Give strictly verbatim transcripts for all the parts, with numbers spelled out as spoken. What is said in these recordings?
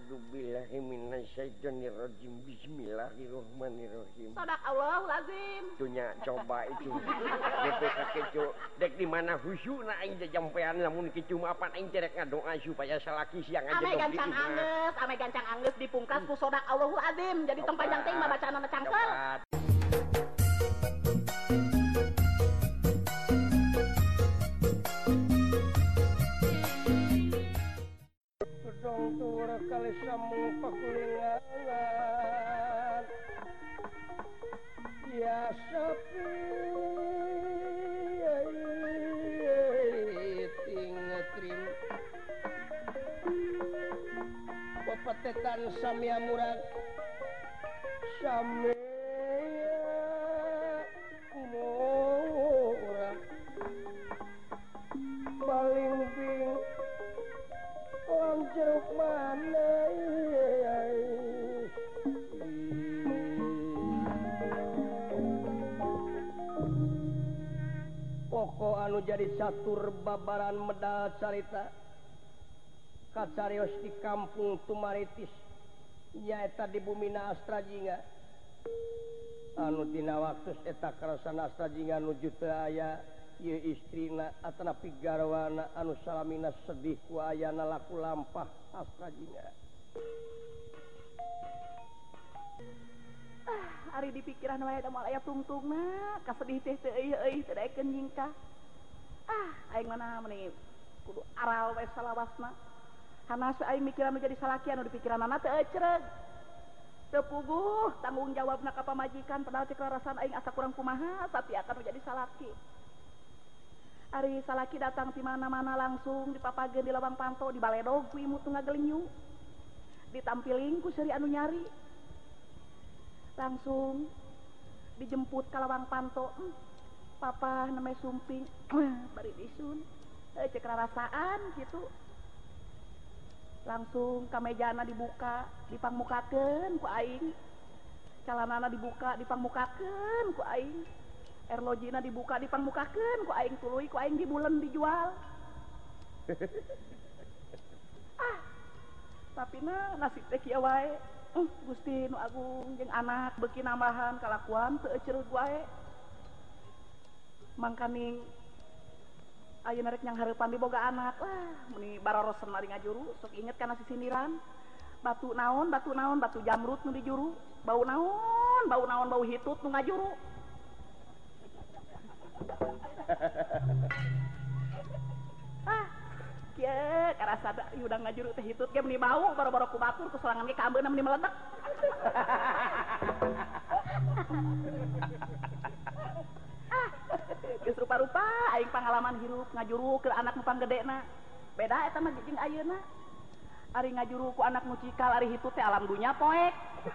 A'udzubillahi minasyaitonirrajim. Bismillahirrahmanirrahim. Sadaqallahul azim. Dunya coba itu. D P K kecu dek di mana khusyukna aing teh jampean lamun kicu mah apa aing cerek ngadoa supaya salaki siang aja ame gancang angeus, ame gancang angeus dipungkas ku sadaqallahul azim. Jadi tong panjang teh mah bacaanna cangkel. Dong tur kali samu pakulingan ya sepi tingetrim pepetetan samia murad samia murad balimbing jeruk mana pokok anu jadi catur babaran medal carita kacarios di kampung Tumaritis nyaeta di bumina Astrajinga anu dina waktu eta karasan Astrajinga nuju teu aya ieu istrina atanapi garwana anu salamina sedih ku ayana laku lampah Astrajinga. Ah, ari di pikiran wae da moal aya tungtungna, kasedih teh teu euy euy teu daekeun nyingkah. Ah, aing mana meni kudu aral we salawasna. Hanas aing mikiran anu jadi salaki anu di pikiranna teu ecreg. Teu puguh tanggung jawabna ka pamajikan padahal cek rarasan aing asa kurang kumaha sapiakan jadi salaki. Ari salaki datang di mana-mana langsung dipapageun di lawang panto di baledog ku imut ngagelenyu ditampiling ku seuri anu nyari langsung dijemput ka lawang panto hmm, papa namanya sumping bari disun eh, cek rarasaan gitu langsung kamejana dibuka dipangmukakeun ku aing calanana dibuka dipangmukakeun ku aing erlojina dibuka dipangmukakeun ku aing tuluy ku aing dibulen dijual. Ah, tapi na nasib teh kieu wae. Uh, Gusti nu agung jeung anak beuki nambahan kalakuan teu ecereug wae. Mangkaning ayeuna rek nyang hareupan diboga anak. Wah, meni barorosen mari ngajuru sok inget kana sisindiran. Batu naon, batu naon, batu jamrut nu dijuru. Bau naon, bau naon, bau hitut nu ngajuru. Ah, kieu karasa da udang ngajuru teh hitut ge meni bau boro-boro ku batur ku sorangan ge ka ambeuna meni meledek. Ah, geus rupa-rupa aing pangalaman hirup ngajuru ke anak nu panggedena. Beda eta mah jeung ayeuna. Ari ngajuru ku anak nu cikal ari hitut teh alam dunya poek.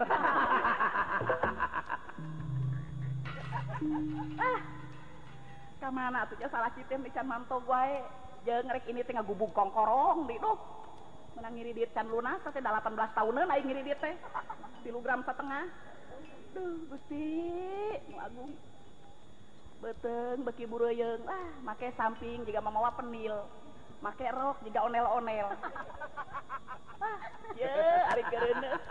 Ah, kamana atuh salah kita can mantog wae jeung rek ini teh ngagubug kongkorong di duh menang ngiri diet can lunas teh delapan belas tahunan aing ngiri diet teh tilu gram setengah duh Gusti nu agung beteung beki bureuyeung ah make samping jiga mamawa penil make rok jiga onel-onel ah ye ari keureuneus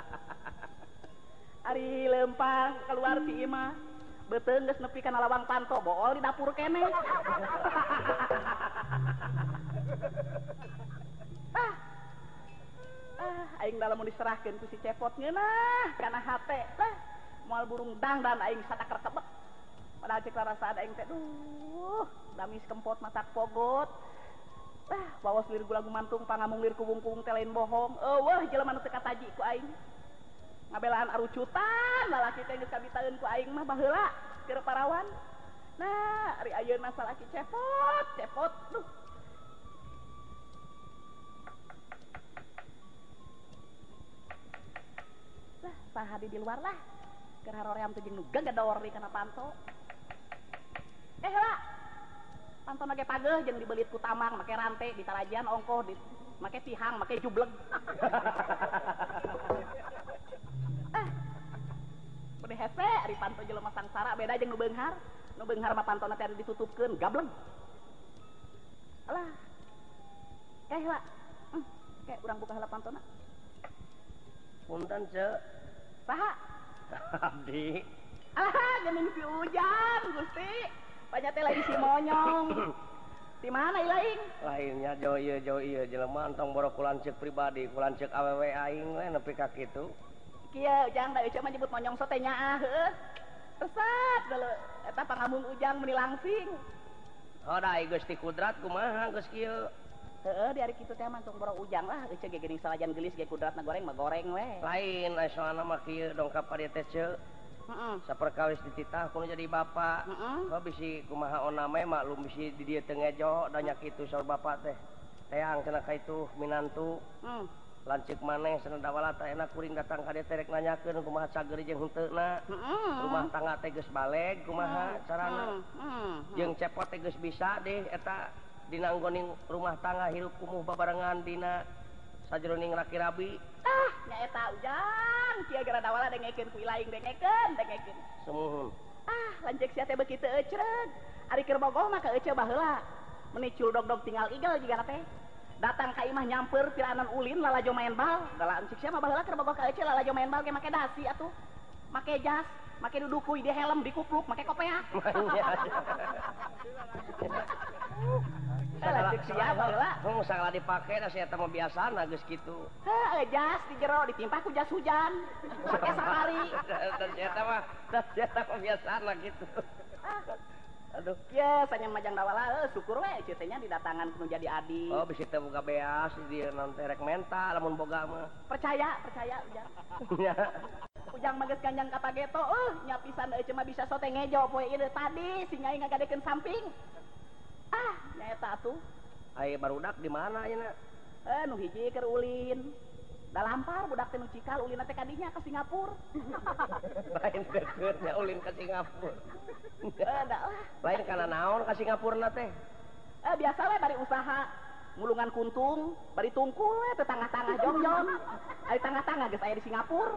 ari lempang keluar ti imah beteung geus nepi kana lawang panto bool di dapur kene. ah ah aing da lamun diserahkeun ku si cepot ngeunah kana hate lah moal burung dangdan aing sataker tebek padahal cek rarasaan aing teh duh damis kempot matak pogot ah waos lir gula gumantung pangamung lir kubung-kubung teh lain bohong eueuh jelema nu teu kataji ku aing ngabelaan arucutan lalaki teh geus kabitaeun ku aing mah baheula keur parawan. Nah, ari ayeuna salaki cepot, cepot. Duh. Lah, saha di luar lah. Keur haroream teh jeung nu gagador di kana panto. Eh, heula. Panto ge pageuh jeung dibelit ku tamang make rante di tarajan ongkoh di make tihang, make jubleg. Udah hese ari panto jelema sangsara beda jeung nu beunghar. Nu beunghar mah pantona teh ditutupkeun gableng. Alah. Eh, heula. Hmm, kayak urang buka heula pantona. Punten cek. Saha? Abdi. Ah, geuning si Ujang, Gusti. Banyak teh lain si Monyong. Di mana ilaing? Lainnya jauh ieu jauh ieu jelema entong borok kulanceuk pribadi, kulanceuk awewe aing we nepi ka kitu. Kieu Ujang da euceuk mah nyebut Monyong so teh nyaah heuh. Resep geuleuh eta pangamung Ujang meuni langsing. Hodai Gusti Kudrat kumaha geus kieu? Heeh, di ari kitu teh mah tong borok Ujang lah, euceuk ge geuning salajan geulis ge kudratna goreng mah goreng we. Lain aya soalna mah kieu dongkap ka dieu teh ceuk. Heeh. Saperkawis dititah kudu jadi bapak. Heeh. Kok bisi kumaha oname maklum bisi di dieu teh ngejo da nya kitu saur bapak teh. Teang cenah ka itu minantu. Hmm. Lanceuk maneh cenah dawala teh enak kuring datang ka dieu teh rek nanyakeun kumaha cageuri jeung heunteuna. Heeh. Rumah tangga teh geus baleg kumaha carana. Heeh. Jeung cepot teh geus bisa deh eta dina anggoning rumah tangga hirup kumuh babarengan dina sajroning laki rabi. Ah, nya eta Ujang, kieu gara dawala dengekeun ku ilaing dengekeun, dengekeun. Semuhun. Ah, lanceuk sia teh beuki teu ecreg. Ari keur bogoh mah ka eceu baheula. Meni culdog-dog tinggal igel jigana teh. Datang ka imah nyamper piranan ulin lalajo main bal. Gala encik sia mah baheula keur bogoh ka eceu lalajo main bal ge make dasi atuh. Make jas, make dudukuy di helm, di kupluk, make kopea. Lanceuk sia baheula. Hung sagala dipake da sia teh mah biasana geus kitu. Heuh, jas di jero ditimpah ku jas hujan. Make safari. Dan sia teh mah da sia teh mah biasana kitu. Aduh, Kieu sanya majang dawala heuh syukur we eceu teh nya didatangan kudu jadi adi. oh bisi teh boga beas di dieu naon teh rek menta lamun boga mah. Percaya, percaya Ujang. Nya. Ujang mah geus kanjang ka Pageto, euh nya pisan eceu mah bisa sote ngejo poe ieu tadi si nyai ngagadekeun samping. Ah, nya eta atuh. Ai barudak di mana ayeuna? Eh nu hiji keur ulin. Da lampar budak teh nu cikal ulina teh kadinya ka Singapura. Lain deukeut nya ulin ka Singapura. Eh da lah. Lain kana naon ka Singapurna teh? Eh biasa we bari usaha. Mulungan kuntung, bari tungkul we teh tangah-tangah jong-jong. Ari tangah-tangah geus aya di Singapura.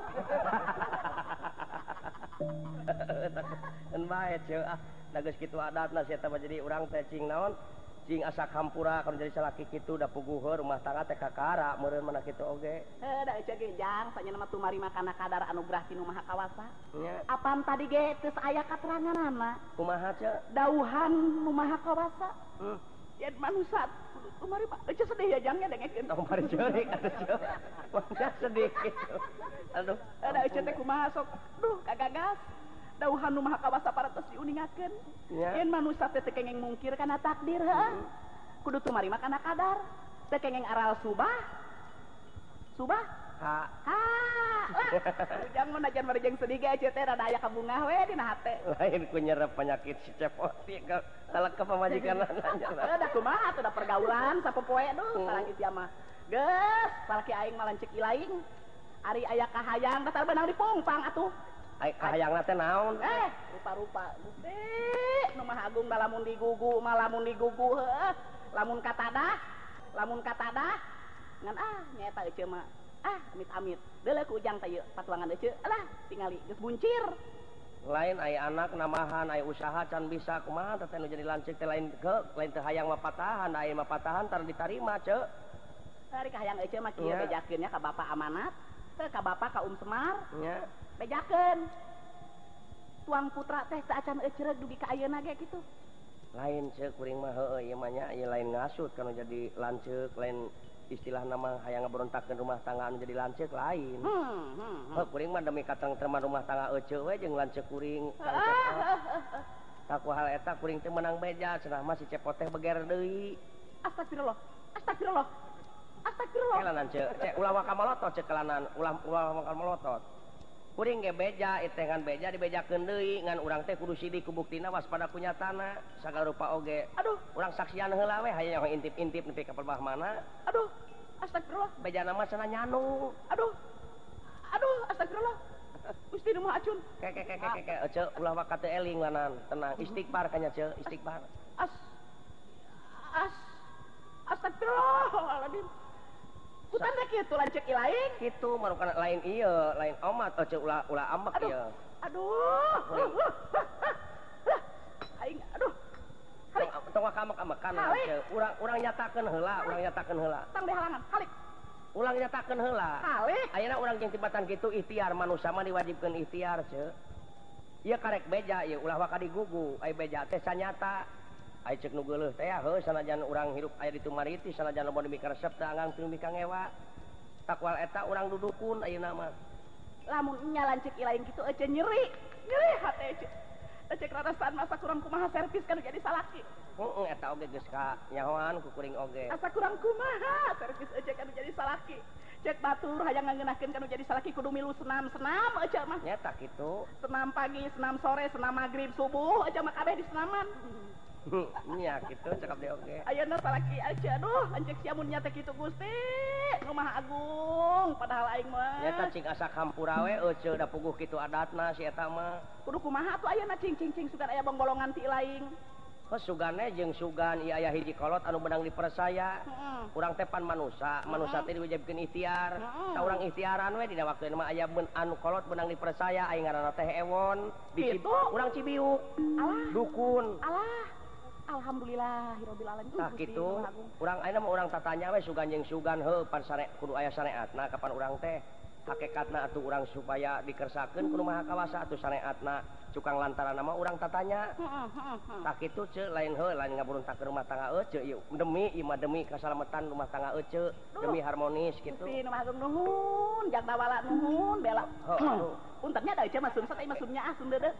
Eun bae ceu ah, da geus kitu adatna sia teh jadi urang teh cing naon? Cing asa kampura kana jadi salaki kitu da puguheur rumah tangga teh kakara meureun mana kitu oge. Eh da eceu ge Jang, sanyana mah tumari makana kadar anugerah ti Nu Maha Kawasa. Nya, Apaan tadi ge teu aya kateranganana. kumaha ceu? Dauhan Nu Maha Kawasa. Hmm. Yen manusia kudu tumari mah eceu sedih ya Jang nya dengekeun. Tong bari ceurik atuh ceu. Mangga sedih kitu. Aduh, Eh da eceu teh kumaha sok. Duh kagagas. Dauhan Nu Maha Kawasa parantos diuningakeun. Ya. Yen manusia teh teu kengeng mungkir kana takdir heuh. Kudu tumari mah kana kadar. Teu kengeng aral subah. Subah? ha. Ha. Lah. Ujang mun najan marejeng sedih ge eceu teh rada aya kabungah we dina hate. Lain ku nyerep penyakit si cepot ieu ka kalek ka pamajikanna nya. Eh da kumaha tuh da pergaulan sapopoe duh sareng sia mah. Geus, salaki aing mah lanceuk ilaing. Ari aya kahayang da beunang dipungpang atuh. Ai kahayangna teh naon? Eh, rupa-rupa. Gusti, nu Maha Agung da lamun digugu mah lamun digugu heuh. Lamun katadah, lamun katadah ngan ah nyaeta eceu mah. Ah, amit-amit. Deuleu ku Ujang teh ieu patuangan eceu. Alah, tingali geus buncir. Lain aya anak namahan aya usaha can bisa kumaha teh nu jadi lanceuk teh lain ke lain teh hayang mah patahan aya mah patahan tar ditarima ceu. Ari kahayang eceu mah kieu Ya. bejakeun nya ka Bapak Amanat, teu ka Bapak ka Um Semar. Nya. Bejakeun. Tuang putra teh teu acan ecreg dugi ka ayeuna ge kitu. Lain ceu kuring mah heueuh ieu mah nya ieu lain ngasut kana jadi lanceuk lain istilah nama hayang ngaberontakeun rumah tangga anu jadi lanceuk lain. Hmm, hmm, hmm. Heuh kuring mah demi katengtreman rumah tangga euceu we jeung lanceuk kuring. Taku hal eta kuring teh menang beja cenah mah si cepot teh beger deui. Astagfirullah. Astagfirullah. Astagfirullah. Kelanan ceu cek ulah waka malotot cek kelanan ulah ulah waka malotot. Kuring ge beja itu ngan beja dibejakeun deui ngan urang teh kudu sidik ku buktina waspada ku nyatana sagala rupa oge. Aduh, Urang saksian heula we hayang intip-intip nepi ka perbah mana. aduh. Astagfirullah. Bejana mah cenah nyanu. Aduh. Aduh, astagfirullah. Gusti Nu Maha Acun. Ke ke ke ke ke ke ceu ulah waka teu eling lanan tenang istighfar kanya ceu istighfar. As. As. Astagfirullahaladzim. Kutan teh kitu lanceuk ilaing. Kitu marukana lain ieu lain omat ceu ulah ulah ambek Aduh. ieu. Aduh. Aing aduh. Halik. Tong waka amek-amekan Halik. ceu urang urang nyatakeun heula urang nyatakeun heula. Tang di halangan. Halik. ulang nyatakeun heula ayeuna urang jeung tibatan kitu ikhtiar manusia mah diwajibkeun ikhtiar ce ieu karek beja ieu ulah waka digugu ai beja teh sanyata ai ceuk nu geuleuh teh heuh sanajan urang hirup aya di Tumariti sanajan loba nu mika resep teh anggang teu mika ngewa takwal eta urang dudukun ayeuna mah lamun nya lanceuk ilaing kitu ece nyeri nyeri hate ece cek rarasan masa kurang kumaha servis kan jadi salaki heeh eta oge geus ka nyahoan ku kuring oge asa kurang kumaha servis ece kan jadi salaki cek batur hayang ngeunahkeun kan jadi salaki kudu milu senam-senam ece mah nyata kitu senam pagi senam sore senam magrib subuh ece mah kabeh di senaman nya kitu cakap deui oge ayeuna salaki ece aduh anjeuk sia mun nya teh kitu Gusti nu maha agung padahal aing mah nyata cing asa kampura we ece da puguh kitu adatna si eta mah kudu kumaha atuh ayeuna cing cing cing sugan aya bonggolongan ti laing heuh sugane jeung sugan ieu aya hiji kolot anu menang dipersaya heeh urang teh pan manusia manusia teh diwajibkeun ikhtiar ta urang ikhtiaran we dina waktueuna mah aya anu kolot menang dipersaya aya ngaranna teh Ewon di urang Cibiuk alah dukun alah alhamdulillahirabbil alamin tah kitu urang ayeuna mah urang tatanya we sugan jeung sugan heuh pan sare kudu aya syariatna kapan urang teh hakikatna atuh urang supaya dikersakeun kudu maha kawasa atuh syariatna cukang lantaran mah urang tatanya tah kitu ce lain heuh lain ngaburuntakeun rumah tangga ece ieu demi ieu mah demi kasalametan rumah tangga ece demi harmonis kitu Gusti nu maha nuhun jak dawala nuhun bela puntennya da ece mah sumsat ai mah sumnya ah sum deudeu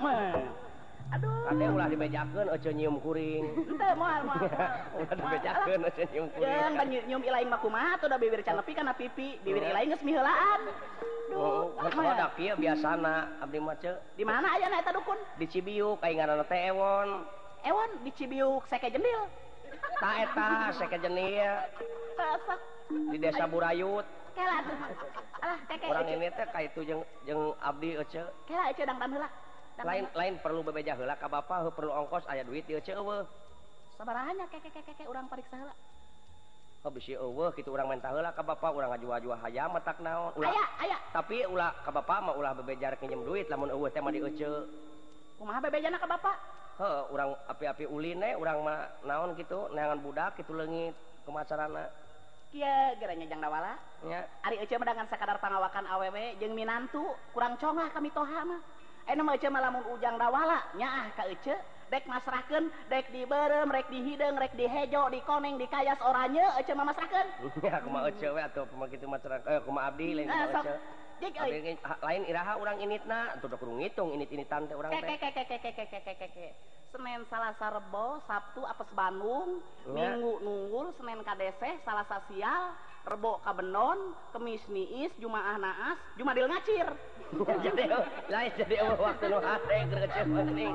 aduh kade ulah dibejakeun ece nyium kuring henteu moal moal ulah dibejakeun ece nyium kuring jeung da nyium ilaing mah kumaha tuh da bibir can nepi kana pipi bibir ilaing geus miheulaan duh oh da kieu biasana abdi mah ce di mana ayeuna eta dukun di Cibiuk aya ngaranna teh Ewon Ewon di Cibiuk seke jendil tah eta seke jenil sasak di desa Burayut kela tuh alah keke urang ini teh ka itu jeung jeung abdi ece kela ece dangdan heula lain lain perlu bebeja heula ka bapa heuh perlu ongkos aya duit ieu ce eueuh sabaraha nya keke keke urang pariksa heula oh bisi eueuh kitu urang menta heula ka bapa urang ngajua-jua hayam matak naon ulah aya aya tapi ulah ka bapa mah ulah bebeja rek nginjem duit lamun eueuh teh mah di ece kumaha bebejana ka bapa heuh urang api-api ulin we urang mah naon kitu neangan budak kitu leungit kumaha carana kieu geranya jang dawala nya ari ece mah dengan sakadar pangawakan awewe jeung minantu kurang congah kami toha mah aya mah ece mah lamun ujang dawala nyaah ka ece dek masrahkeun dek dibeurem rek dihideung rek dihejo dikoneng dikayas oranye ece mah masrahkeun ya kumaha ece we atuh kumaha kitu masrah eh kumaha abdi lain kumaha ece abdi lain iraha urang initna atuh da kudu ngitung init-initan teh urang teh keke keke keke keke keke Senin Salasa Rebo Sabtu apes Bandung Minggu nunggul Senin kadese Salasa sial Rebo kabenon Kemis niis Jumaah naas Jumadil ngacir jadi lain jadi waktu nu hate gerece penting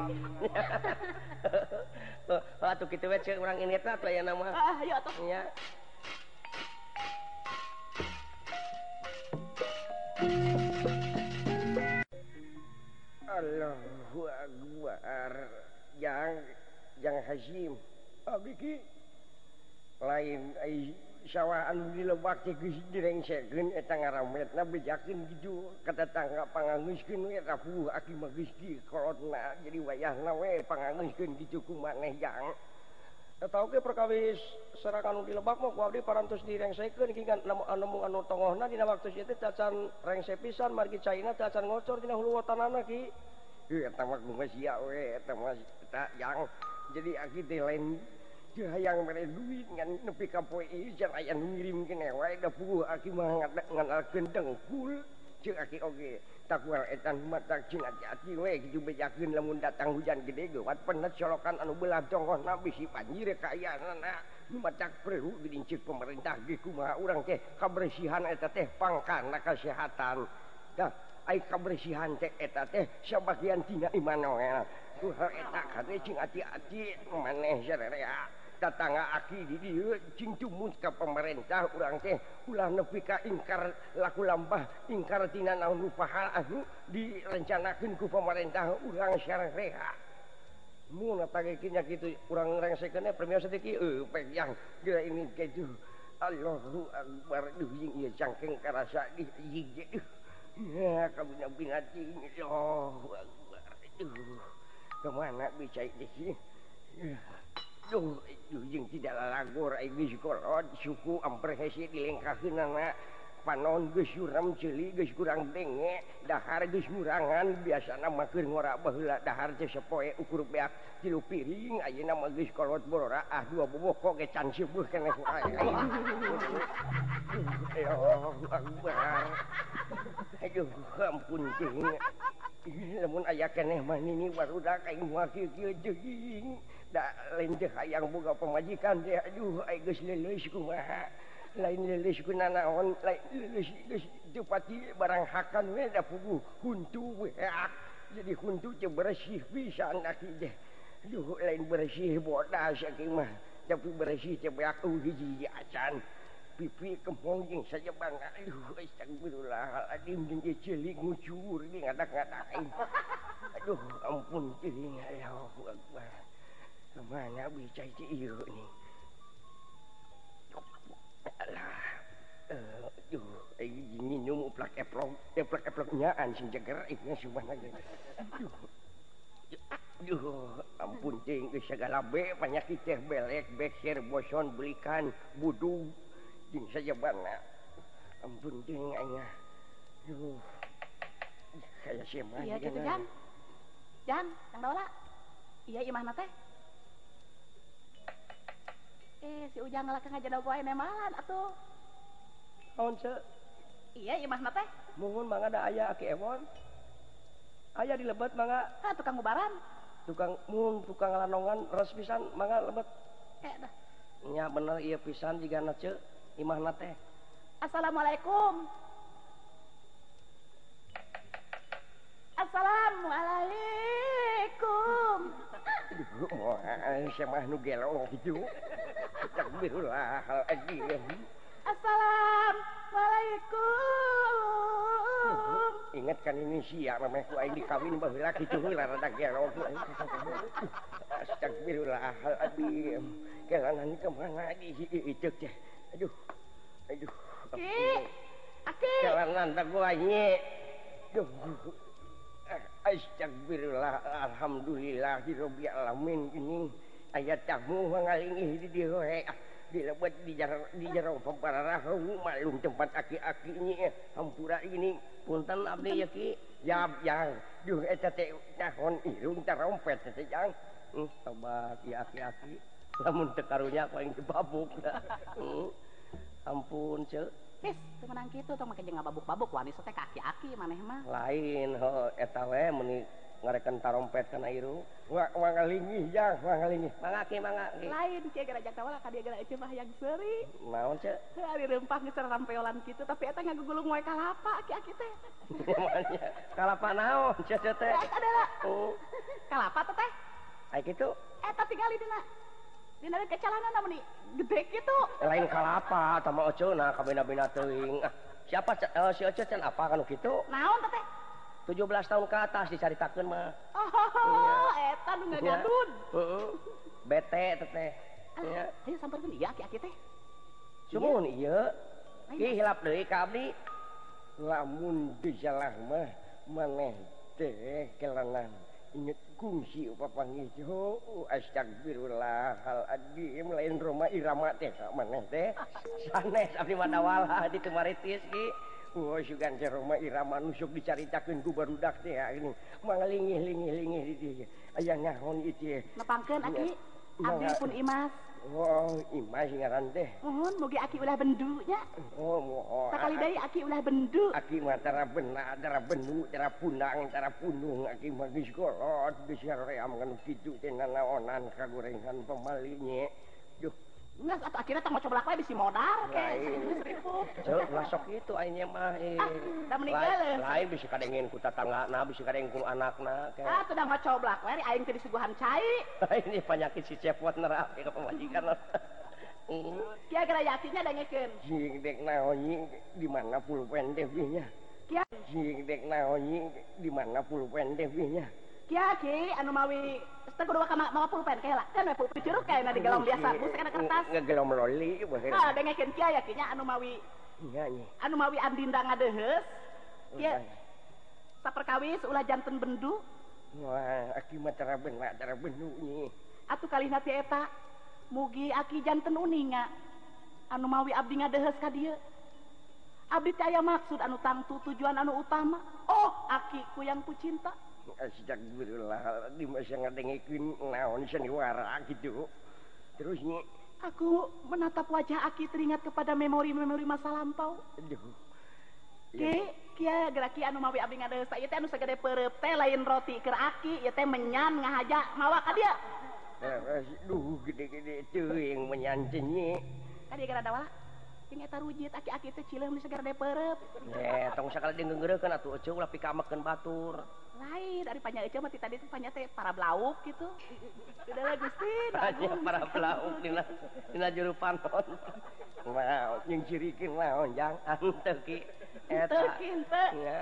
atuh kitu we ceuk urang initna atuh aya nama ah ayo atuh nya Allahu Akbar yang yang Hasyim abdi ki lain ai sawaan di lebak teh geus direngsekeun eta ngarametna bejakeun kitu ka tetangga pangangeuskeun we rapuh aki mah geus di kolotna jadi wayahna we pangangeuskeun kitu ku maneh yang eta oge perkawis serangan di lebak mah ku abdi parantos direngsekeun ki anu anu anu tongohna dina waktu ieu teh tacan rengse pisan margi caina tacan ngocor dina hulu watanana ki heuh eta mah kumaha sia we eta mah eta yang jadi aki teh lain jeung hayang mere duit ngan nepi ka poe ieu jan aya nu ngirimkeun wae da puguh aki mah nganalkeun dengkul jeung aki oge takwal etan matak jeung ati-ati we kitu bejakeun lamun datang hujan gede geuwat penet colokan anu beulah tonggosna bisi banjir kaayaanna nu matak perlu didincik pemerintah ge kumaha urang teh kabersihan eta teh pangkana kasehatan dah ai kabersihan teh eta teh sabagian tina iman we kumaha eta kade jeung ati-ati maneh sarerea tatangga aki di dieu cing tumus ka pemerintah urang teh ulah nepi ka ingkar laku lampah ingkar tina naon pahal anu direncanakeun ku pemerintah urang sarerea mun atagekeun nya kitu urang rengsekeun premio sedeki eueuh pegang geura ini kitu Allahu Akbar duh jeung ieu cangkeng karasa di hiji ya kabina binati Allahu Akbar duh kemana bicai teh Duh, jeung tidak lalagor ai geus kolot suku amper hese dilengkakeun anak panon geus suram ceuli geus kurang denge dahar geus ngurangan biasana mah keur ngora baheula dahar teh sapoe ukur beak tilu piring ayeuna mah geus kolot borora ah dua boboko ge can seueuh keneh wae ya Akbar aduh ampun teuing lamun aya keneh mah nini barudak aing moal kieu-kieu jeung da lain teh hayang boga pamajikan teh aduh ai geus leuleus kumaha lain leuleus ku nanaon lain leuleus geus teu pati barang hakan we da puguh huntu beak jadi huntu teh bersih pisan aki teh aduh lain bersih bodas aki mah tapi bersih teh beak eueuh hiji acan pipi kemong jeung saja bangga aduh astagfirullahaladzim jeung ge ceulik ngucur di ngadak-ngadak aduh ampun teuing Allahu Akbar kemana bicai teh ieu nih alah aduh ai nginum uplak eplok eplok eplok nyaan sing jeger ieu subhanallah aduh aduh ampun teuing geus sagala be panyakit teh belek beker boson belikan budug jeung saja bangga ampun teuing aing aduh kaya semah iya kitu Jan Jan Kang Daula iya imahna teh eh si Ujang ngalak ngajana poe nemalan atuh naon ce iya imahna teh muhun mangga da aya Aki Ewon aya di Lebet mangga ah tukang ubaran tukang muhun tukang lanongan res pisan mangga Lebet eh dah nya bener ieu pisan jigana ce imahna teh assalamualaikum assalamualaikum aduh moal semah nu gelo kitu Astagfirullahaladzim assalamualaikum ingat kan ini sia memeh ku aing dikawin baheula kitu heula rada gelo Astagfirullahaladzim kelangan kemana di itu teh aduh aduh Ki Aki kelangan tak gua nye aduh astagfirullah alhamdulillahirabbil alamin gini aya tamu mangalingih di dieu we di Lebet di jero di jero papararahu malum tempat aki-aki nya hampura ini punten abdi ya Ki yap yang duh eta teh nahon irung tarompet teh jang hmm tobat ya aki-aki lamun teu karunya paling dibabuk hmm ampun ce Wis, teu menang kitu tong make jeung ngababuk-babuk wanis teh kaki-aki maneh mah. Lain ho eta we meuni ngarekan tarompet kana irung. Wa wangalingih jang, wangalingih. Mangga ki mangga ki. Lain kieu gara jak tawala ka dieu gara eceu mah hayang seuri. Naon ce? Heuh ari rempah geus rampeolan kitu tapi eta ngagugulung wae kalapa aki-aki teh. Kalapa naon ce teh? Eta adalah. Oh. Kalapa teh teh? Ai kitu. Eta tinggali dina. Dina kecalanana meni gede kitu. Lain kalapa tama oceuna kabina-bina teuing. Ah, siapa uh, si Oce can apa kanu kitu? Naon teh teh? tujuh belas tahun ke atas dicaritakeun mah. Oh, iya. Eta nu ngagadun. Heeh. Bete teh teh. Ya. Ayo sampeurkeun ieu aki-aki teh. Sumun ieu. Ki hilap deui ka abdi. Lamun dijalah mah maneh teh kelangan inget kungsi papanggih oh astagfirullahaladzim lain Roma Irama teh maneh teh sanes abdi madawala di Tumaritis ki oh sugan teh Roma Irama nusuk dicaritakeun ku barudak teh ini manglingih-lingih-lingih di dieu aya naon ieu nepangkeun aki abdi pun Imas. Oh, Imas ngaran teh. Mohon mugi aki ulah bendu nya. Oh, mohon. Sakali deui aki ulah bendu. Aki mah tara beuna, tara bendu, tara punang, tara punung, aki mah geus kolot, geus saream kan kitu teh nanaonan kagorengan pamali nya. Duh, geus atuh akhirna tong coblak we bisi modal ke. Ceu masok kitu ayeuna mah eh. Da meninggal. Lain bisa kadengin ku tatanggana, bisa kadengin ku anakna ke. Ah, teu da coblak we aing teh disuguhan cai. Ini penyakit si cepot nerap ka pamajikan. Kia gara yakinnya dengekeun. Jing dek naon di mana pulpen teh nya. Kia jing dek naon di mana pulpen teh nya. Kia ki anu mawi teu kudu ka mawa pulpen kae lah. Kan we pulpen curug kae na di galon biasa, bus kana kertas. Ngegelom loli bae. Ah, dengekeun kia yakinnya anu mawi. Iya nya. Anu mawi andinda ngadeuheus. Kia saperkawis ulah janten bendu. Wah, aki mah tara beuna, tara bendu nya. Atuh kalihna ti eta mugi aki janten uninga anu mawi abdi ngadehes ka dieu. Abdi teh aya maksud anu tangtu tujuan anu utama. Oh, aki ku yang ku cinta. Astagfirullah, di masa ngadengikeun naon sandiwara gitu. Terus nyi, aku menatap wajah aki teringat kepada memori-memori masa lampau. Aduh. Ki, kia geraki anu mawi abdi ngadeus ieu teh anu sagede peureup teh lain roti keur aki, ieu teh menyan ngahaja mawa ka dieu. Aduh, gede-gede teuing menyanten nyi. Ka dieu gara dawa. Jeung eta rujit aki-aki teh cileum di sagede peureup. Eh, tong sakali denggeureukeun atuh eceuk ulah pikamekeun batur. Lain dari panya eceuk mah ti tadi teh panya teh para blauk gitu. Udah Gusti, Panya para blauk dina dina juru panon. Wow, jeung cirikeun naon jang anteu ki. Eta henteu. Ya.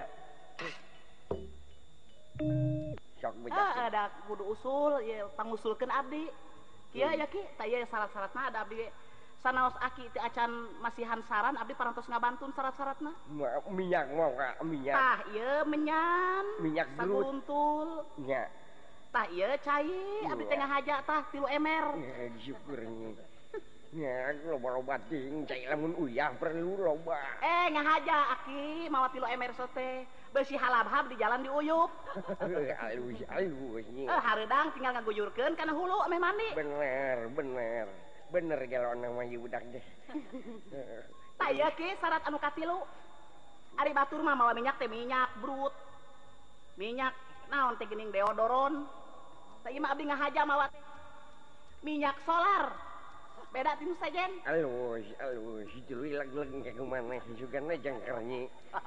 Sok Ah, bejak. ada kudu usul, ya pangusulkeun abdi. Kieu ya ki, tah ieu syarat-syaratna ada abdi sanaos aki teh acan masihan saran abdi parantos ngabantun syarat-syaratna. Minyak mau ka minyak. Tah ieu menyan, Minyak saguruntul. Nya. Tah ieu cai, abdi teh ngahaja tah tilu emer. Ya syukurnya. Ya, loba-loba ting, cai lamun uyah perlu loba. Eh ngahaja aki mawa tilu emer sote. Beusi halabhab di jalan diuyup. Alus alus nya. Eh hareudang tinggal ngaguyurkeun kana hulu meh mandi. Bener, bener. Bener kalau nama budak deh. Tah ieu ki syarat anu katilu. Ari batur mah mawa minyak teh minyak brut. Minyak naon teh geuning deodoron. Tah ieu mah abdi ngahaja mawa teh minyak solar. Beda tinu sajen. Alus, alus, itu lag-lag kayak kemana juga na jangkarnya.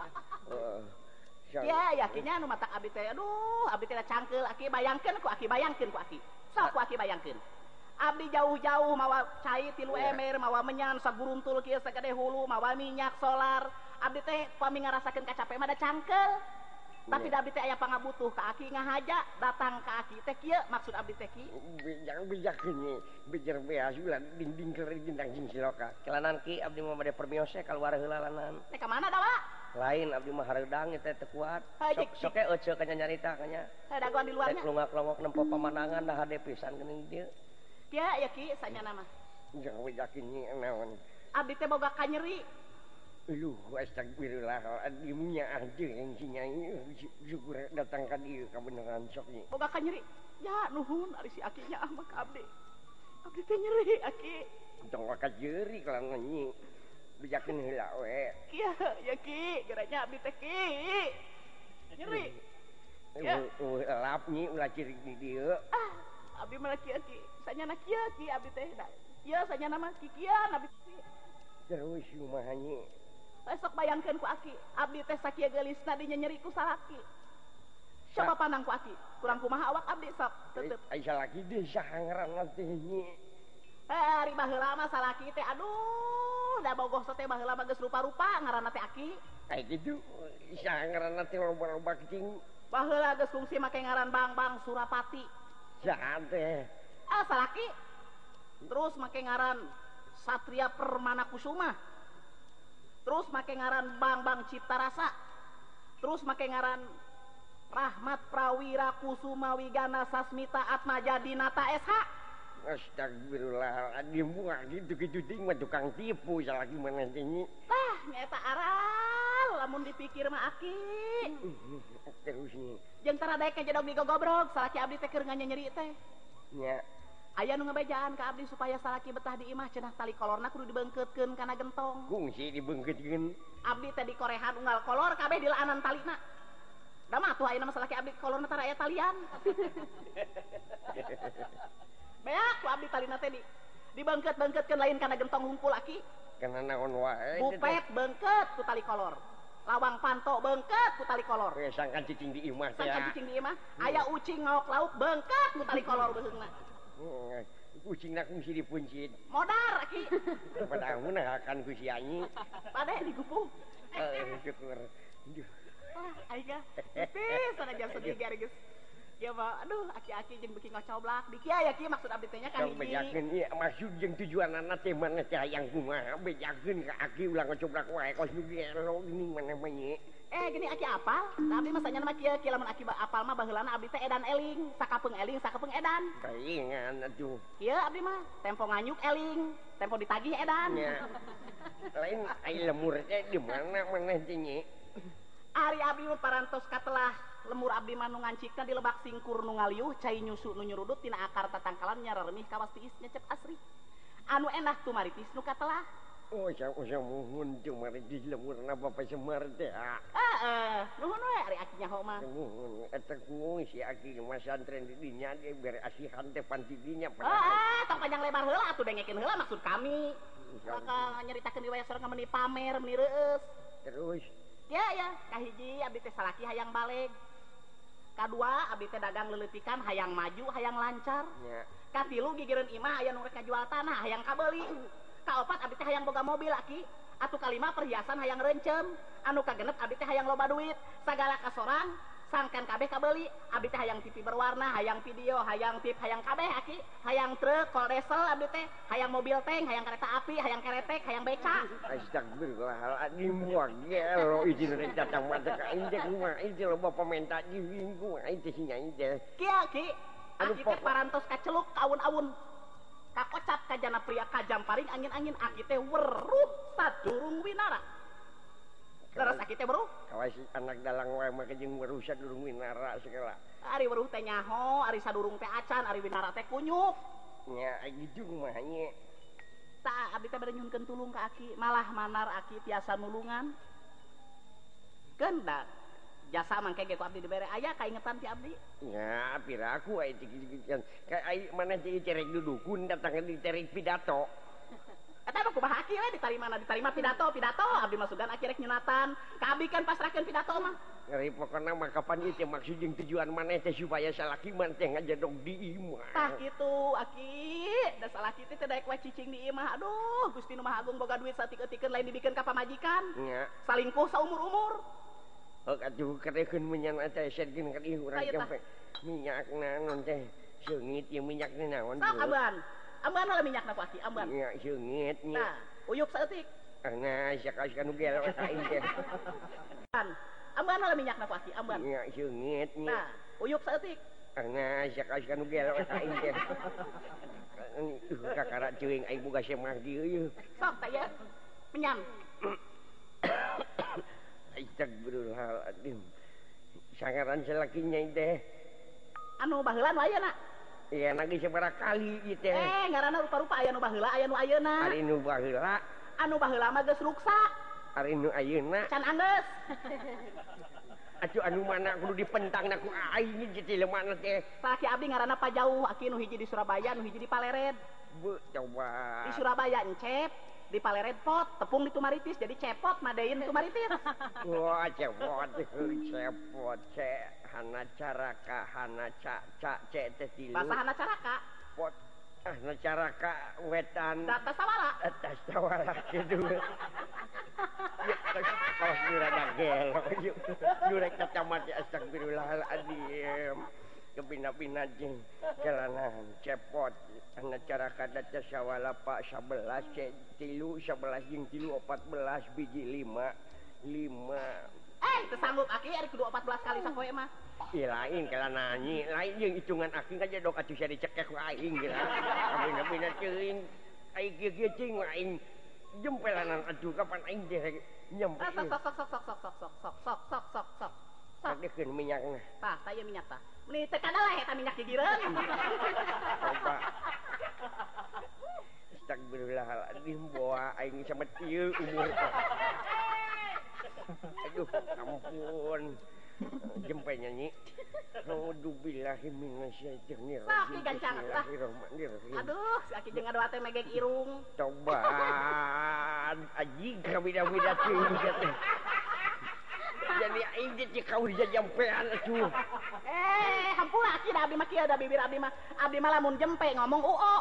Ya, yakinnya anu matak abdi teh. Aduh, abdi teh cangkeul, aki bayangkeun ku aki bayangkeun ku aki. Sok ku aki bayangkeun. Abdi jauh-jauh mawa cai tilu emer, mawa menyan saguruntul kieu sagede hulu, mawa minyak solar. Abdi teh pami ngarasakeun kacape mah da cangkeul. Tapi da abdi teh aya pangabutuh ka aki ngahaja, datang ka aki teh kieu maksud abdi teh ki. Bijak bijak ini, bijar beas ulah dinding keur gendang jeung siloka. Kelanan ki abdi mah bade permiose kaluar heula lanan. Teh ka mana dawa? Lain abdi mah hareudang teh teu kuat. Sok sok ece kanya nyarita kanya. Teh dagoan di luarnya. Rek lungak-lungok nempo pamandangan dah hade pisan geuning dieu. Kieu ya ki sanyana mah. Jangan bijak ini naon. Abdi teh boga kanyeri. Luh, astagfirullah, adimunya aja yang si Nyai, syukur datang ke dia, kebenaran sok ni. Boga ka nyeri. Ya, nuhun, ari si akinya ah mah ka abdi. Abdi teh nyeri, aki. Tong ka jeuri kalau nyi, bijakeun heula we. Kieu, ya ki, geranya abdi teh ki. Nyeri. Ya. Lap nyi ulah ciri di dieu. Ah, abdi mah kieu ki. Sanyana kieu ki abdi teh. Ieu sanyana mah ki kieu abdi teh. Terus kumaha nyi? Besok bayangkeun ku aki, abdi teh sakieu geulisna dinya nyeri ku salaki. Coba pandang ku aki, kurang kumaha awak abdi sok teuteut. Ai salaki deui saha ngaranna teh nyi? Eh, ari baheula mah salaki teh aduh, da bogoh teh baheula mah geus rupa-rupa ngaranna teh aki. Ai kitu, saha ngaranna teh loba-loba kecing. Baheula geus fungsi make ngaran Bang-Bang Surapati. Saha teh? Ah, salaki. Terus make ngaran Satria Permana Kusuma. Terus make ngaran Bang-Bang Cipta Rasa. Terus make ngaran Rahmat Prawira Kusuma Wigana Sasmita Atmaja Dinata S H. Astagfirullahaladzim, buah gitu-gitu ting mah tukang tipu salaki mana tinggi. Tah, nyata aral, lamun dipikir mah aki. Terus nih. Jeung tara daek jedog digogobrog, salaki abdi teh keur nganyeri teh. Nya. Aya nu ngabejaan ka abdi supaya salaki betah di imah cenah tali kolorna kudu dibeungkeutkeun kana gentong. Kungsi dibeungkeutkeun. Abdi teh di korehan unggal kolor kabeh di laanan talina. Da mah atuh ayeuna mah salaki abdi kolorna tara aya talian. Beak ku abdi talina teh di dibeungkeut-beungkeutkeun lain kana gentong hungkul aki. Kana naon wae. Bupet beungkeut ku tali kolor. Lawang panto beungkeut ku tali kolor. We sangkan cicing di imah teh. Sangkan cicing di imah, aya ucing ngaok lauk beungkeut ku tali kolor beheungna. Kucing nak kungsi dipuncit. Modar aki. Pada amun akan ku si anyi. Pade digupung. Eh syukur. Ah, aing ga. Pis sana jam sedih geus. kieu mah aduh aki-aki jeung beuki ngocoblak di kieu ya kieu maksud abdi teh nya ka hiji bejakeun ieu maksud jeung tujuanna teh mana teh hayang kumaha bejakeun ka aki ulah ngocoblak wae kos nu gelo geuning maneh mah nya eh gini aki apal da abdi mah sanyana mah kieu kieu lamun aki apal mah baheulana abdi teh edan eling sakapeung eling sakapeung edan kaingan atuh kieu abdi mah tempo nganyuk eling tempo ditagih edan nya lain ai lemur teh di mana maneh teh nya ari abdi mah parantos katelah lemur abdi mah nu ngancikna di lebak singkur nu ngaliuh cai nyusu nu nyurudut tina akar tatangkalan nyararemih kawas tiis nyecep asri anu enak tu maritis nu katelah oh sa muhun tu maritis lemurna Bapak Semar teh heeh nuhun we ari aki nyaho mah nuhun eta kuung si aki mah santren di dinya ge bere asihan teh panti dinya heeh tong panjang lebar heula atuh dengekeun heula maksud kami maka nyaritakeun riwayat sorang meuni pamer meuni reueus terus ya ya kahiji abdi teh salaki hayang baleg kadua abdi teh dagang leuleupikan hayang maju hayang lancar nya katilu gigireun imah aya nu rek ngajual tanah hayang kabeuli kaopat abdi teh hayang boga mobil aki atuh kalima perhiasan hayang reuncem anu kagenep abdi teh hayang loba duit sagala kasorang sangkan kabeh kabeuli abdi teh hayang T V berwarna hayang video hayang tip hayang kabeh aki hayang truk kol diesel abdi teh hayang mobil tank hayang kereta api hayang keretek hayang beca astagfirullahaladzim gua gelo izin rek datang mata ka indek mah itu loba pamenta jiwing gua itu sia ide kieu ki aki teh parantos kaceluk kaun-aun kakocap kajana pria kajam paring angin-angin aki teh weruh sadurung winara leres aki teh weruh kawas anak dalang wae mah jeung weruh sadurung winara segala ari weruh teh nyaho ari sadurung teh acan ari winara teh kunyuk nya gitu mah nya tah abdi teh bade nyuhunkeun tulung ka aki malah manar aki tiasa nulungan keundak jasa mangke ge ku abdi dibere aya kaingetan ti abdi nya piraku aya dikit-dikitan ka ai maneh teh cerek dudukun datang di cerek pidato eta mah kumaha aki we ditarimana ditarima pidato pidato abdi mah sugan aki rek nyunatan ka abdi kan pasrahkeun pidato mah ngeri pokona mah kapan ieu teh maksud jeung tujuan maneh teh supaya salaki man teh ngajadog di imah tah kitu aki da salaki teh teh daek we cicing di imah aduh Gusti nu Maha Agung boga duit satik-etikeun lain dibikeun ka pamajikan nya salingkuh saumur-umur hok atuh karekeun menyan teh sedkeun ka ieu urang sampe minyakna naon teh seungit ieu minyakna naon sok amban amban lah minyakna ku aki amban nya seungit nya nah uyup saeutik nah sakaus kanu gelo ka ieu teh amban lah minyakna ku aki amban nya seungit nya nah uyup saeutik nah sakaus kanu gelo ka ieu teh kakara ceuing ai boga semah dieu ieu sok tah ya menyan astagfirullahaladzim sangaran salakinya teh anu baheula nu ayeuna iya nagi sabaraha kali ieu teh eh ngaranna rupa-rupa aya nu baheula aya nu ayeuna ari nu baheula anu baheula mah geus ruksa ari nu ayeuna can anggeus atuh anu mana kudu dipentangna ku aing ieu teh lemana teh salaki abdi ngaranna Pajauh aki nu hiji di Surabaya nu hiji di Palered bu coba di Surabaya encep di Palered pot tepung di Tumaritis jadi cepot madein Tumaritis wah cepot cepot ce hana caraka hana ca ca ce teh tilu bahasa hana caraka pot hana caraka wetan data sawala atas sawala kitu kaos nurana gelo yuk nurek kacamata astagfirullahaladzim kebina-bina jeung jalanan cepot hana caraka data sawala pak sebelas ce tilu sebelas jeung tilu empat belas biji lima lima eh teu sanggup aki ari kudu empat belas kali sapoe mah ih lain kala nanyi lain jeung hitungan aki aja dok atuh sia dicekek ku aing geura bina-bina ceuing ai kieu-kieu cing aing jempelanan aduh kapan aing teh nyampe sok sok sok sok sok sok sok sok sok sok sok sok sadekeun minyakna tah tah ieu minyak tah meuni teu kadalah eta minyak gigireun coba astagfirullahaladzim boa aing samet ieu umur aduh ampun jempe nyanyi A'udzubillahi minasyaitonir rajim bismillahirrahmanirrahim aduh si aki jeung ngadoa teh megeg irung cobaan anjing kabida-bida teuing teh jadi aing teh kau dijampean atuh eh hampura aki da abdi mah kieu da bibir abdi mah abdi mah lamun jempe ngomong uo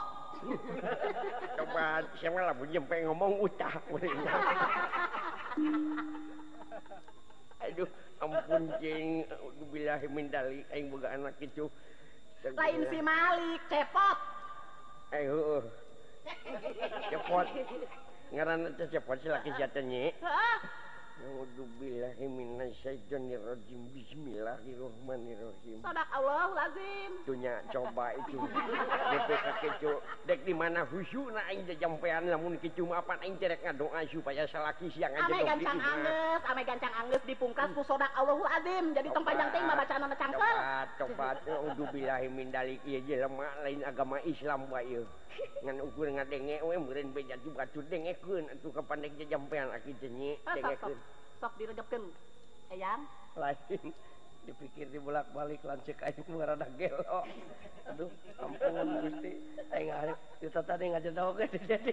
coba siapa lamun jempe ngomong utah aduh ampun ampun cing billahi min dalik aing boga anak kicu lain si Malik cepot eh heueuh cepot ngaranna teh cepot si laki sia teh nyi heeh A'udzubillahi minasyaitonirrajim. Bismillahirrahmanirrahim. Sadak Allah lazim. Dunya coba itu. D P K kicu dek di mana khusyukna aing teh jampean lamun kicu mah apa aing teh rek ngadoa supaya salaki siang aja ame gancang anggeus, ame gancang anggeus dipungkas ku sadak Allahul azim. Jadi tong panjang teh mah bacaanna cangkel. Coba a'udzubillahi min dalik ieu jelema lain agama Islam wae ieu. Ngan ukur ngadenge we meureun beja juga tu dengekeun atuh kapandek jampean aki teh nyi dengekeun. Sok diregepkeun eyang lain dipikir dibolak-balik lancek aing rada gelo aduh ampun Gusti aing arep kita tadi ngajedogeun jadi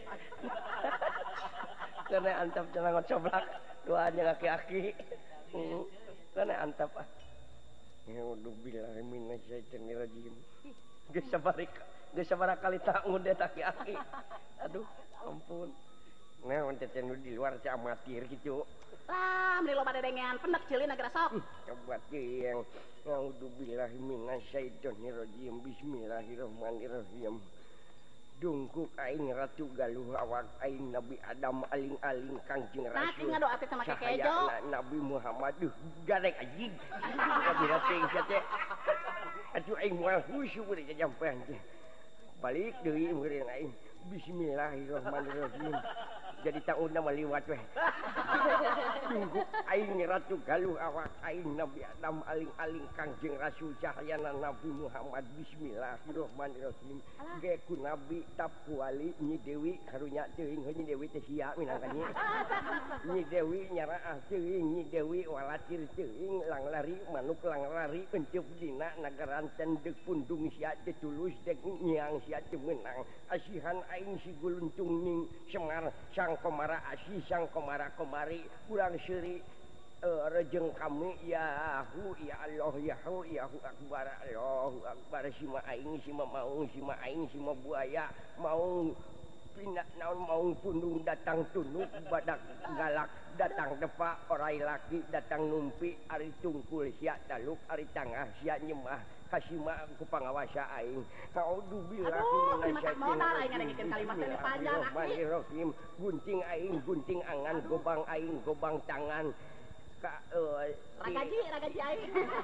karena antap cenah ngocoblak doanya aki-aki karena antap ah ya udah billahi minasyaitonirrajim geus sabarik geus sabaraha kali tak ngundet aki-aki aduh ampun nah untuk nu di luar teh amatir gitu lah meni loba dedengean pendek ceulin agar sok coba yang a'udzubillahi minasyaitonirrajim bismillahirrahmanirrahim dungkuk aing ratu galuh awak aing Nabi Adam aling-aling Kangjeng Rasul nah tinggal doa teh sama kekejo Nabi Muhammad duh garek anjing kabira teh teh atuh aing moal khusyuk we jampean teh balik deui meureun aing bismillahirrahmanirrahim jadi taunna maliwat weh tunggu aing ratu galuh awak aing Nabi Adam aling-aling Kangjeng Rasul cahyana Nabi Muhammad bismillahirrahmanirrahim ge ku nabi tapku wali Nyi Dewi karunya teuing Nyi Dewi teh sia minangka nyi Nyi Dewi nyaraah teuing Nyi Dewi walatir teuing lang lari manuk lang lari enceup dina nagaran cendek pundung sia teh tulus dek nyiang sia teh meunang asihan aing si guluntung ning Semar sang komara asih sang komara komari kurang seuri uh, rejeng kami yahu ya Allah yahu yahu akbar Allahu akbar sima aing sima maung sima aing sima buaya maung pindah naon maung pundung datang tunduk badak galak datang depa orai laki datang numpi ari tungkul sia taluk ari tangah sia nyemah kasima ku pangawasa aing a'udzubillahi minasyaitonir aing ngadengkeun kalimat teh panjang aki gunting aing gunting angan gobang aing gobang tangan ka uh, ragaji ragaji aing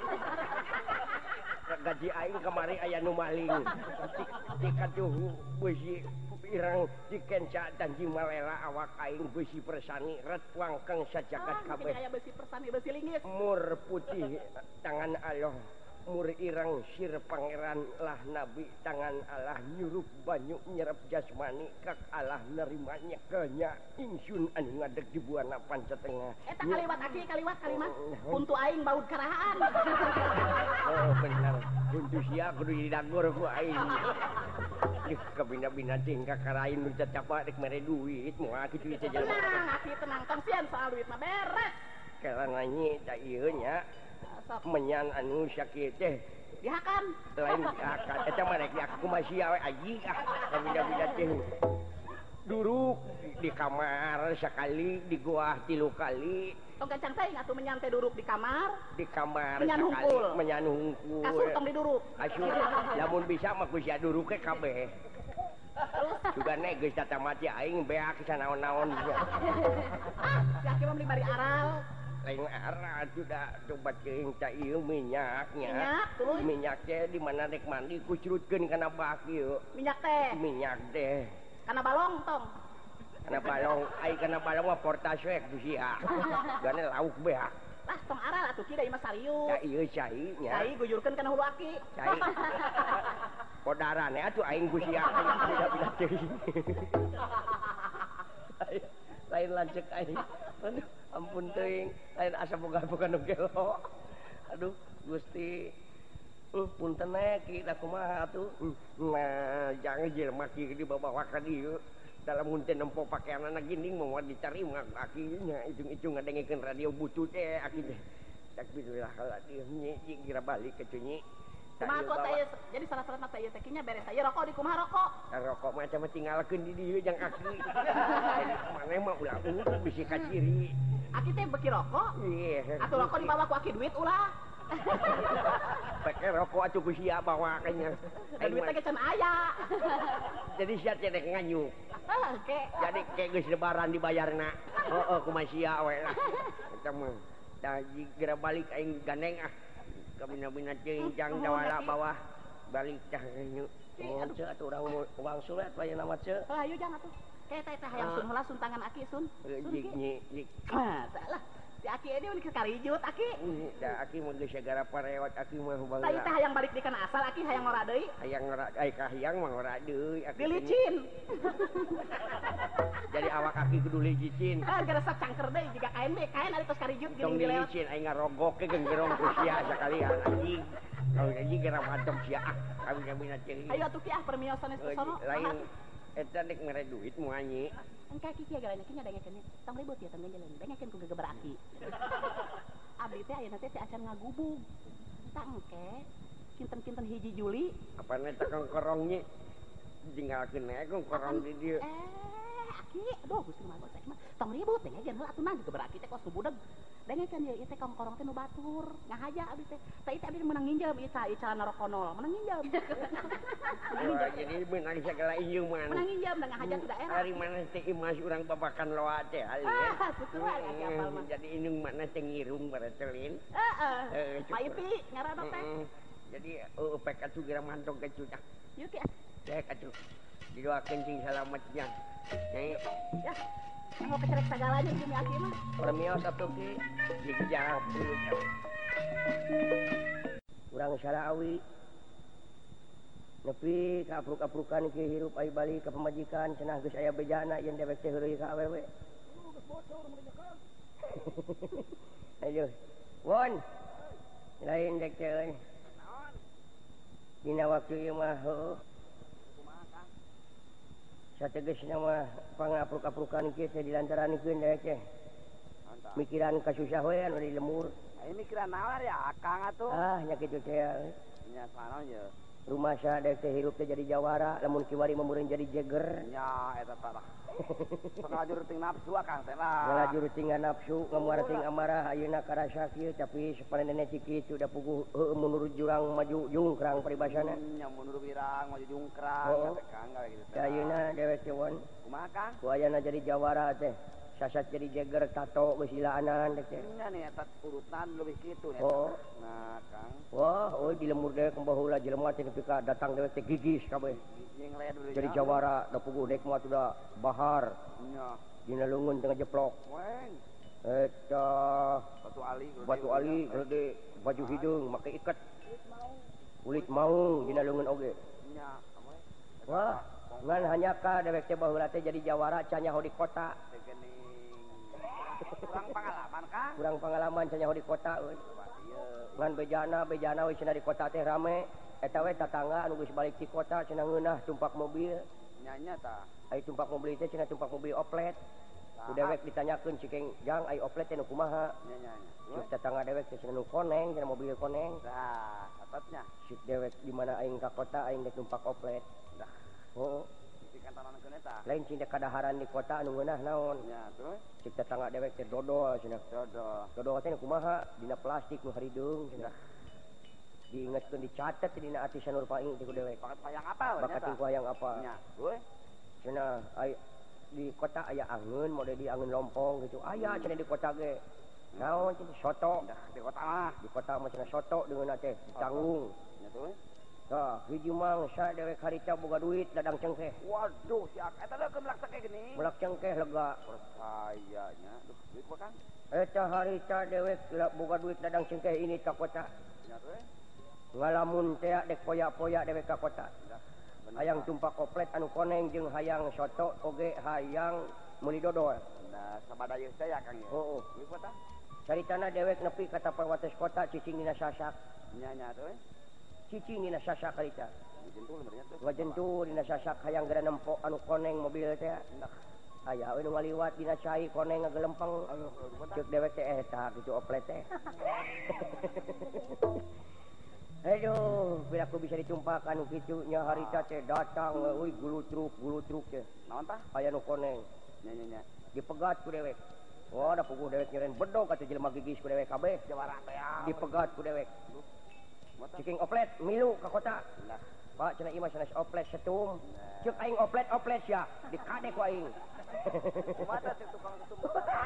ragaji aing kamari aya nu maling di katuh beusi irang dikenca danji malela awak aing beusi persani ret wangkeng sajagat kabeh aya beusi persani beusi linggis mur putih tangan Allah mur irang sir pangeran lah nabi tangan Allah nyurup banyu nyerap jasmani kak Allah nerimanya kenya ingsun anu ngadeg di buana pancatengah eta kaliwat aki kaliwat kalimat puntu aing baud karahaan oh benar puntu sia kudu didagor ku aing ih kabina-bina tingkah karain nu cacapa rek mere duit moal kitu teh jelema tenang aki tenang tong sieun soal duit mah beres karena nyi da ieu nya menyan anu sakieu teh dihakan lain dihakan eta mah rek dihakan kumaha sia we anjing ah kabina-bina teh duruk di kamar sekali di gua tilu kali tong gancang teh atuh menyan teh duruk di kamar di kamar menyan sekali hungkul menyan hungkul kasur tong diduruk kasur lamun bisa mah ku sia duruk ke kabeh juga nek geus tata mati aing beak sanaon-naon ah si aki mah beli bari aral lain arah sudah coba ceuing ta ieu minyaknya minyak tuh minyak teh di mana rek mandi kucurutkeun kana bak ieu minyak teh minyak teh kana balong tong kana balong ai kana balong mah portas we ku sia gane lauk beak lah tong aral atuh kieu da mah sarius ta ieu cai nya cai gujurkeun kana hulu aki cai podarane atuh aing ku sia bida-bida teuing lain lancek aing aduh ampun teuing lain asa boga-boga nu gelo aduh Gusti uh, punten ki da kumaha atuh nah jangan jelema ki dibawa ka dieu dalam mun teh nempo pakaianna ginding moal ditarima akinya icung-icung ngadengkeun radio butut teh aki teh takbirullah haladzim nyi kira balik ke nyi Kumaha tuh teh jadi salah-salah teh ieu teh nya beres aya rokok di kumaha rokok? Rokok macam tinggalkeun di dieu jang aki. Jadi maneh mah ulah unggul bisi ka ciri. Aki teh beki rokok? Iya. Atuh rokok dibawa ku aki duit ulah. Pakai rokok atuh ku sia bawa kayaknya. Da duit teh can aya. Jadi sia teh nganyuk. Oke. Jadi kayak geus lebaran dibayarna. Heeh kumaha sia we lah. Eta mah da geura balik aing gandeng ah. Kabina-bina ceuing jang dawala bawah balik dah nyu. Mun ceu atuh urang uang sulet bae nama ceu. Hayu jang atuh. Kayak teh teh hayang sun heula sun tangan aki sun. Jig nyi jig. Ah, salah. Si aki ini udah karijut aki. Da aki mah geus segara pareot aki mah baheula. Tah teh hayang balik di kana asal aki hayang ngora deui. Hayang ngora ai kahayang mah ngora deui aki. Dilicin. Jadi awak aki kudu licin. Ah gerasa cangker deui jiga kain deui, kain ari tos karijut geuning dilewat. Licin aing ngarogok ke genggerong ku sia sakalian anjing. Kalau anjing geura mantep sia ah. Kabina-bina ceuing. Ayo atuh ki ah permiosan geus sono. Lain eta dek mere duit moal nyi. Engka ki kieu garanya kieu dengekeun tong ribut ya tong jalan dengekeun ku gegeber aki. Abdi teh ayeuna teh acan ngagubug. Entah engke kinten-kinten hiji Juli. Apana eta kongkorong nyi? Tinggalkeun we kongkorong di dieu. Eh aki aduh Gusti mah bos mah tong ribut dengekeun heula atuh nah gegeber aki teh kos budeg. Dengekeun ieu teh kongkorong teh nu batur. Ngahaja abdi teh. Tah ieu abdi menang nginjem ieu ca ieu calana rokonol menang nginjem. Wah, jadi menang segala ieu mah. Menang nginjem da ngahaja ti daerah. Ari mana teh imas urang babakan loa teh ali. Ah, syukur aki apal mah. Jadi indung mana teh ngirung baretelin. Heeh. Paipi ngaranna teh. Jadi eueuh pek atuh geura mantong ke cudah. Yuk ya. Cek atuh. Didoakeun cing salametnya. Nyai. Ya. Mau kecerek sagalanya jeung aki mah. Permios atuh ki. Dijang. Urang Sarawi. Nepi ka apruk-aprukan ki hirup ai balik ka pamajikan cenah geus aya bejana yen dewek teh heureuy ka awewe. Aduh. Won. Lain dek teh. Dina waktu ieu mah heuh. Sategesna mah pangapruk-aprukan kieu teh dilantaranikeun dewek teh. Mikiran kasusah we anu di lemur. Ai mikiran naon ya Akang atuh. Ah nya kitu teh. Nya sanaon ye. Rumah saya dek teh hirup teh jadi jawara, lamun kiwari memureun jadi jeger. Nya eta tah. Ngajur ting nafsu Akang teh lah. Ngajur ting nafsu, ngamuar ting amarah ayeuna karasa kieu tapi sapanenna ciki sudah puguh heueuh menurut jurang maju jungkrang paribasana. Nya mundur wirang maju jungkrang teh Kang gawe kitu teh. Ayeuna dewek teh won. Kumaha Kang? Ku ayeuna jadi jawara teh. Sasat jadi jeger tato geus ilaanan dek teh. Nya nih eta urutan leuwih kitu nya. Oh. Nah Kang. Wah, euy di lemur dewek baheula jelema teh nepi ka datang dewek teh gigis kabeh. Jadi jawara da puguh dek mah sudah bahar. Nya. Dina leungeun teh ngejeplok. Weng. Eta Batu ali. Batu ali gede baju hidung make iket. Kulit maung dina leungeun oge. Nya. Wah, ngan hanya ka dewek teh baheula teh jadi jawara can nyaho di kota. Kurang pengalaman Kang. Kurang pengalaman can nyaho di kota euy. Ngan bejana bejana we cenah di kota teh rame. Eta we tatangga anu geus balik ti kota cenah ngeunah tumpak mobil. Nya nya tah. Ai tumpak mobil teh cenah tumpak mobil oplet. Ku dewek ditanyakeun cikeng jang ai oplet teh nu kumaha. Nya nya nya. Cik tatangga dewek teh cenah nu koneng cenah mobil koneng. Tah, atatnya. Cik dewek di mana aing ka kota aing dek numpak oplet. Dah. Oh. Kantonakeun eta. Lain cing dek kadaharan di kota anu ngeunah naon. Nya terus. Cik tetangga dewek teh dodol cenah. Dodol. Dodol teh nu kumaha dina plastik nu harideung cenah. Diingetkeun dicatet dina ati sanur paing ti ku dewek. Bakat hayang apa? Bakat ting hayang apa? Nya. Euy. Cenah ai di kota aya angeun mode di angeun lompong gitu. Aya cenah di kota ge. Naon cenah soto. Dah di kota mah. Di kota mah cenah soto deungeunna teh ditanggung. Nya tuh. Tah, hiji mangsa dewek harita boga duit ladang cengkeh. Waduh, si Ak eta leuh kemelak sakeh gini. Melak cengkeh lega. Percayanya. Duh, duit apa Kang? Eta harita dewek boga duit ladang cengkeh ini ka kota. Nya tuh. Ngalamun teh dek poya-poya dewek ka kota. Hayang tumpak oplet anu koneng jeung hayang soto oge hayang meuli dodol. Nah, sabadayeun teh ya Kang ya. Heuh. Duit apa? Caritana dewek nepi ka tapawates kota cicing dina sasak. Nya nya tuh. Cicing dina sasak harita. Jentul benernya tuh. Ngajentu dina sasak hayang geura nempok anu koneng mobil teh. Aya we nu ngaliwat dina cai koneng ngagelempeng. Ceuk dewek teh eta kitu oplet teh. Aduh, bila aku bisa ditumpahkan kitunya harita teh datang, euy gulu truk, gulu truk teh. Naon tah? Aya nu koneng. Nya nya nya. Dipegat ku dewek. Wah, da puguh dewek nyeren bedog atuh jelema gigis ku dewek kabeh. Jawara teh ya. Dipegat ku dewek. Mata. Ciking oplet milu ka kota. Nah, Pak cenah imah sanes oplet setum. Ceuk aing oplet oplet sia, dikade ku aing. mata teh tukang setum.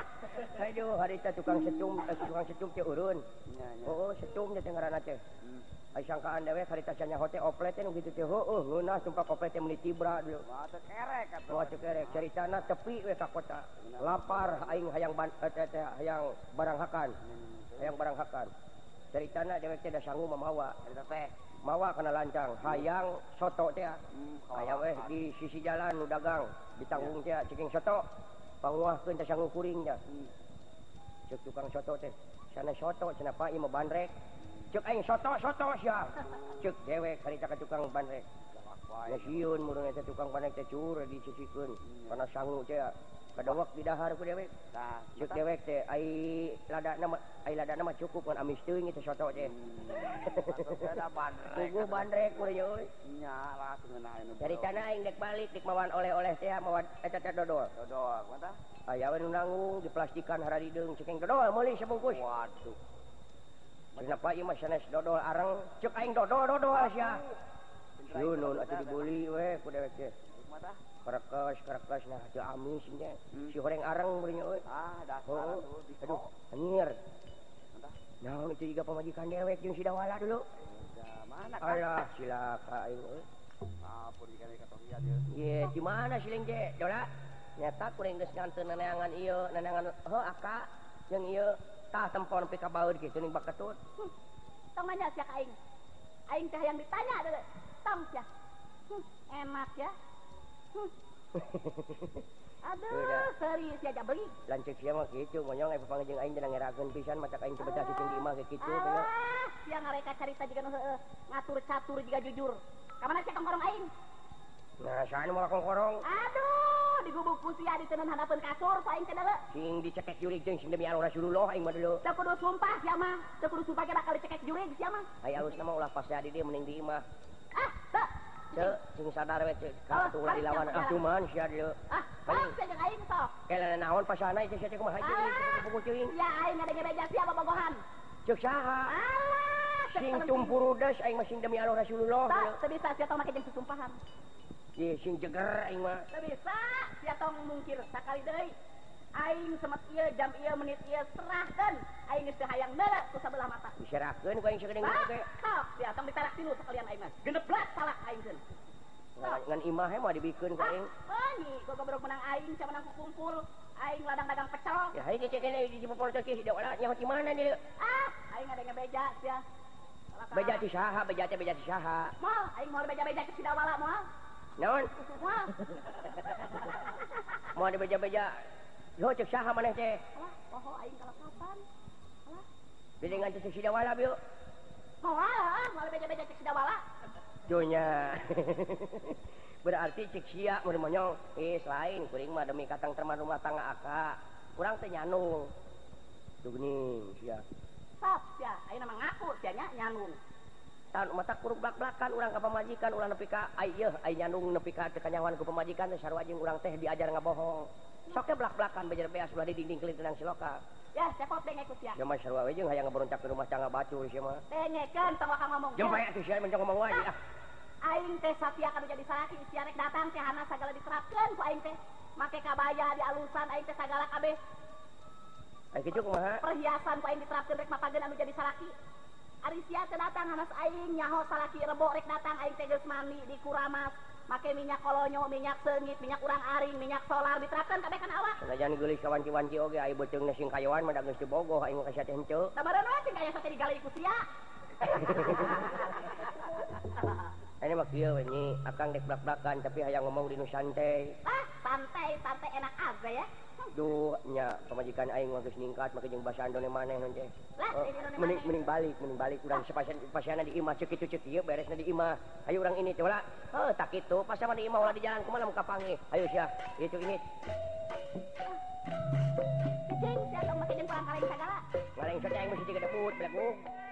Aduh, harita tukang setum, eh, tukang setum teh urun. Nya nya. Oh, setum teh ngaranna teh. Hmm. Ai sangkaan dewek harita sanyaho teh oplet teh nu kitu teh. Heueuh, ngeunah sumpah oplet teh meuni tibra dulu. Mata kerek atuh. Wah, cek erek caritana tepi we ka kota. Lapar aing hayang ban eh, teh teh hayang barang hakan. Hayang barang hakan. Caritana dewek teh da sangu mamawa. Eta teh. Mawa kana lancang, hayang soto teh. Hmm, Aya weh di sisi jalan nu dagang, ditanggung teh ceking soto. Panguahkeun teh sangu kuring teh. Cek tukang soto teh. Sana soto cenah pa ieu mah bandrek. Cek aing soto soto sia. Cek dewek harita ka tukang bandrek. Ya sieun murung eta tukang bandrek teh cur disisikeun. Kana sangu teh kadawak di dahar ku dewek. Tah. Cek dewek teh ai ladana mah ai ladana mah cukup ngan amis teuing teh soto teh. Ada bandrek. Puguh bandrek ku deui euy. Nya lah cenah anu. Caritana aing dek balik dik mawan oleh-oleh teh mawan eta teh dodol. Dodol, mata. Aya we nu nanggung diplastikan haradideung ceking dodol meuli sabungkus. Waduh. Kenapa ieu mah sanes dodol areng ceuk aing dodol dodol sia. Yunun atuh dibuli we ku dewek teh. Mata. Karakes karakes nah teu amis nya. Si horeng areng beuring euy. Ah, dasar Oh, atuh di aduh, anjir. Mata. Naon itu juga pemajikan dewek jeung si Dawala dulu. Da mana kan? Alah, silaka aing euy. Ampun dikali katohian ieu. Ye, di mana si Leng teh? Dola. Nyata kuring geus nganteun neneangan ieu, neneangan heuh aka jeung ieu tah tempon nepi ka baeud kitu ning baketut. Hmm. Tong nanya sia ka aing. Aing teh yang ditanya deuleu. Tong sia. Hmm, enak ya. Hmm. Aduh, Udah. serius ya aja beli. Lancik sia mah kitu, monyong aya papanggih jeung aing teh ngerakeun pisan mata aing teh betah cicing di imah ge kitu teh. Alah, sia ngareka carita jiga nu heueuh, ngatur catur jiga jujur. Ka mana sia tongkorong aing? Nah, saan moal kongkorong? Aduh, digubuk ku sia diteun hadapeun kasur ku aing teh deuleu. Sing dicekek jurig jeung sing demi Allah Rasulullah aing mah dulu. Teu kudu sumpah sia mah, teu kudu sumpah ge bakal dicekek jurig sia mah. Ai alusna mah ulah pas di dieu mending di imah. Ah, teu. Ceu, sing sadar we ceu Oh, ka ulah hari dilawan. siapa Ah, jalan? cuman sia dieu. Ah, Paling- sok sia jeung aing sok. Kela naon pasana itu sia teh kumaha jeung Ah, pukul teuing. ya aing ngadenge beja sia bobogohan. Ceuk saha? Alah, cek Sing temen tumpu rudes aing mah sing demi Allah Rasulullah. Tak, teu bisa sia tong make jeung susumpahan. Ye sing jeger aing mah. Teu bisa sia tong mungkir sakali deui. Aing semet ieu jam ieu menit ieu serahkeun. Aing geus teu hayang neuleuh ku sabelah mata. Diserahkeun ku aing sakedeung Ah, ge. sok sia tong ditarak tilu sekalian aing mah. Genep belas salak aing keun. Ngan ngan imah he mah dibikeun ku aing. Ah, nyi, gua gobrok menang aing, sia menang kumpul. Aing ladang dagang pecel. Ya hayu cek kene di popol teh ki da wala nyaho di mana dieu. Ah, aing ngadenge beja sia. Salak- Beja ti saha? Beja teh beja ti saha? Moal, aing mau beja-beja ke Sidawala moal. Naon? Moal. Mau ada beja-beja. Yo cek saha maneh teh? Alah, poho aing kalau kapan? Alah, Bede ngan cek si dawala bieu. moal, ah, moal beja-beja ke Sidawala. Dunya. Berarti cek sia mun monyong eh lain kuring mah demi katang terman rumah tangga aka. Kurang teh nyanung. Tuh geuning sia. Sok sia, aing mah ngaku sia nya nyanung. Tan mata kurug blak-blakan urang ka pamajikan ulah nepi ka ai yeuh ai nyanung nepi ka teu kanyawan ku pamajikan teh sarua jeung urang teh diajar ngabohong. Sok teh blak-blakan bejer beas ulah di dinding kelitiran si loka. Ya, cepot denge ku sia. Ya mah sarua we jeung hayang ngaberontak ke rumah tangga batu sia mah. Dengekeun tong wakal ngomong. Jeung bae atuh sia mencong ngomong wae ah. Aing teh satia kanu jadi salaki sia rek datang teh hana sagala diterapkeun ku aing teh. Make kabaya di alusan aing teh sagala kabeh Ai kitu kumaha? perhiasan ku aing diterapkeun rek mapageun anu jadi salaki. Ari sia teh datang hanas aing nyaho salaki rebo rek datang aing teh geus mandi di kuramas. Make minyak kolonyo, minyak seungit, minyak urang aring, minyak solar diterapkeun kabeh kana awak. Sanajan geulis ka wanci-wanci oge ai beuteungna sing kayoan mah da geus teu bogoh aing mah ka sia teh henteu. Sabareuna we kaya sate digali ku sia. Ini mah kieu we nyi, akang dek blak-blakan tapi hayang ngomong di nu santai. Ah, santai, santai enak aja ya. Duh nya pamajikan aing mah geus ningkat make jeung basa andone maneh nun teh. Lah, Oh, ini nu mending maneh. mending balik, mending balik urang sepasian pasiana di imah ceuk kitu ceuk ieu beresna di imah. Hayu urang ini teh ulah. Heuh tak kitu, pas sama di imah ulah di jalan kumaha muka panggih. Hayu sia, itu ini. Cicing sia tong make jeung kurang kaleng sagala. Ngaleng saja aing mesti deket debut, belakang.